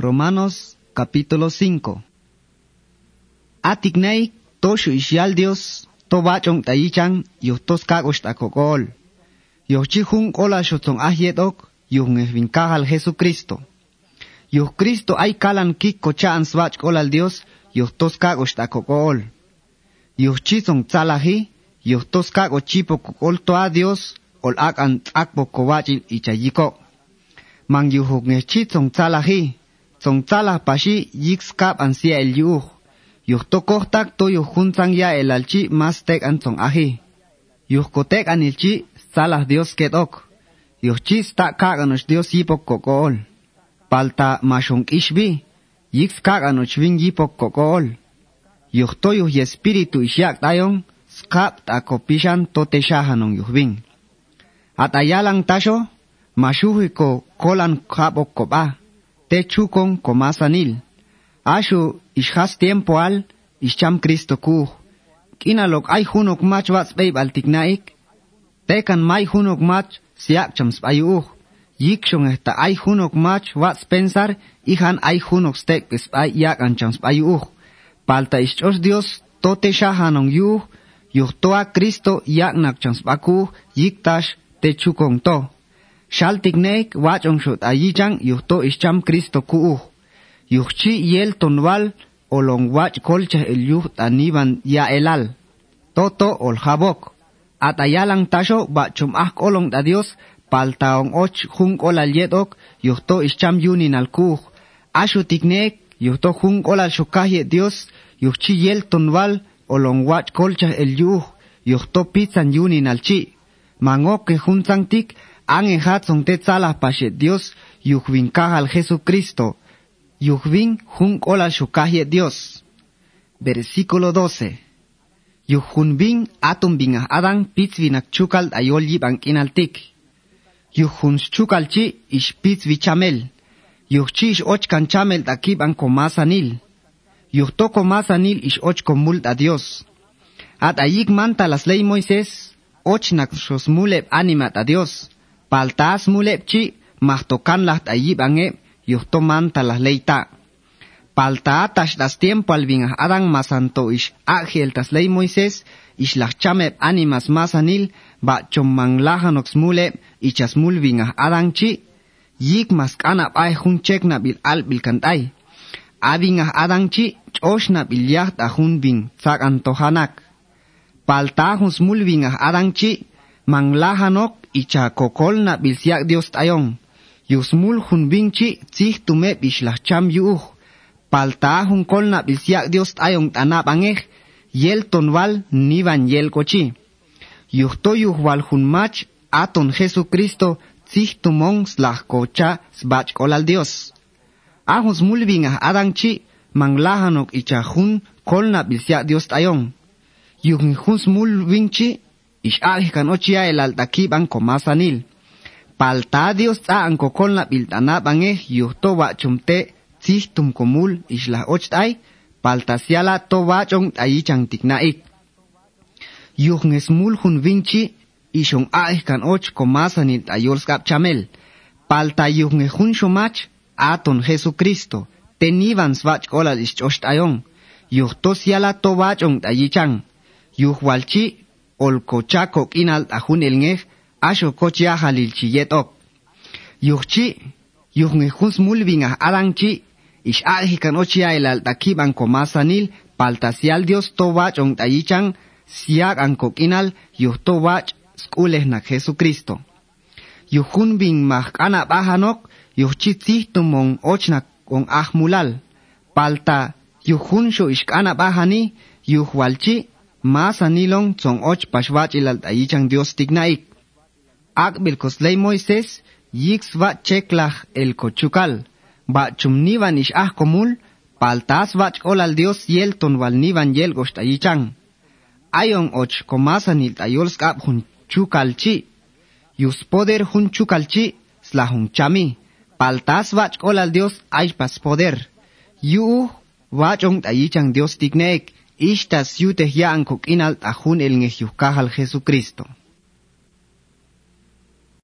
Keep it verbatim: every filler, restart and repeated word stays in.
Romanos capítulo cinco. Atiknei toshu ishial Dios to bachong tayichan yuhtos kagosh takokol. Yochihun kola shotong ahiedok yuhun esvinkahal Jesucristo. Yuh Cristo ay kalan kik kochaan swach kolal Dios yuhtos kagosh takokol. Yuh chisong tsalahi yuhtos kago chipo kokol to a Dios ol ak an akbo kowachil ichayiko. Mang yuhuk ne chisong tsalahi Song tsalah pashi yikskap an sia el yuh. Yuh tokohtak to yuh hunsang ya el alchi mas tek an song ahi. Yuh kotek an ilchi salah Dios ketok. Yuh chis tak kak anosh Dios yipok kokol. Palta mashong ishbi. Yikskak anosh ving yipok kokol. Yuh to yuh yespiritu isyak tayon. Skap takopishan to teshahanong yuh ving. At ayalang tasho. Mashuhiko kolan kapok kopa. Te chukon komasanil. Ashu ishas tiempo al ishcham Cristo kuh. Kinalok ay hunok mach wats babe al tiknaik. Tekan may hunok mach siak cham spayuh. Yikshong esta ay hunok mach wats pensar ihan ay hunok stek spay yak an cham spayuh. Palta ishchos Dios tote shahanong yuh. Yuh toa Cristo yak nak cham spakuh yiktash te chukon to. Shal tiknek wachong shot ayichang yuhto ishcham Cristo kuuh. Yuhchi yel tonwal olong wach kolcha el yuh taniban ya elal. Toto ol habok. At ayalang tasho bachum ah kolong da Dios paltaong och hung olal yedok yuhto ishcham yunin al kuh. Ashu tiknek yuhto hung olal shukahye Dios yuhchi yel tonwal olong wach kolcha el yuh yuhto pizzan yunin al chi. Mangok ke hunsang tik Ang hatzong te tsalah pashet Dios yuhvin kahal Jesucristo. Yuhvin jun kola shukahye Dios. Versículo doce. Yuhun bin atum bin Adán pitzvinak chukal ayol yibang inaltik. Yuhun chukal chi ish pitzvi chamel. Yuhchi ish och kan chamel takib ang komasanil. Yuhto komasanil ish och komult a Dios. At ayik manta las ley Moisés och nak shosmuleb animat a Dios. Paltas mulepchi mahtokan laht ayib ange yuhtoman talas leita. Palta tash das tiempo al bin Adán masanto ish ángel tas ley Moisés ish las chamep animas masanil ba chommanglahanok smulep ichas mul bin Adán chi yik mas kanap ay hun chek na bil al bil kantay. Abing Adán chi chosh na bil yaht ahun bin sak antohanak. Palta hun smul bin Adán chi manglahanok icha kokol na bilsiak Dios tayon. Yusmul hun binchi tzih tume bislah cham yuh. Palta hun kol na bilsiak Dios tayon tanap angeh. Yel tonwal niban yel kochi. Yuh to yuh wal hun mach aton Jesucristo tzih tumong slah kocha sbach kol al Dios. Ahun smul bingah Adán chi manglahanok icha hun kol na bilsiak Dios tayon. Yuh hun smul binchi ish kan ochia el altakib ang komasanil. Palta Dios ta ang kokol na biltanap angeh yuhto wachumte tzih tum komul ish la ochtay. Palta siala to wachong ayichang tiknaik. Yuh ngesmul hun vinchi ishong kan och komasanil ayol skap chamel. Palta yuh ngehun shomach aton Jesucristo. Tenivan swach kolal ish ochtayon. Yuhto siala to wachong ayichang. Yuh walchi ol kochako inal ahun el ngeh asho kochia halil chiyetok. Yuhchi yuh ngehun smul bin Adán chi ish ahikan ochia el altakib ang komasanil paltasial Dios to wach ong tayichang siak ang kokinal yuh to wach skuleh na Jesucristo. Yuhun bin mahkana bahanok yuhchi tzih tumong ochnak ong ahmulal. Palta yuhun sho ishkana bahani yuh walchi masanilong tsong och pashwach ilal tayichang Dios tignaik. Akbil kosley Moisés yiks va cheklach el kochukal. Ba chumnivan ish ah komul paltas vach olal Dios yel ton wal nivan yel gosh tayichang. Ayon och komasanil tayol skap hun chukal chi. Yus poder hun chukal chi sla hun chami. Paltas vach olal Dios ay pas poder. Yu vach ong tayichang Dios tignaik. Ishtas yuteh ya ang kokinal tahun el ngeh yuhkahal Jesucristo.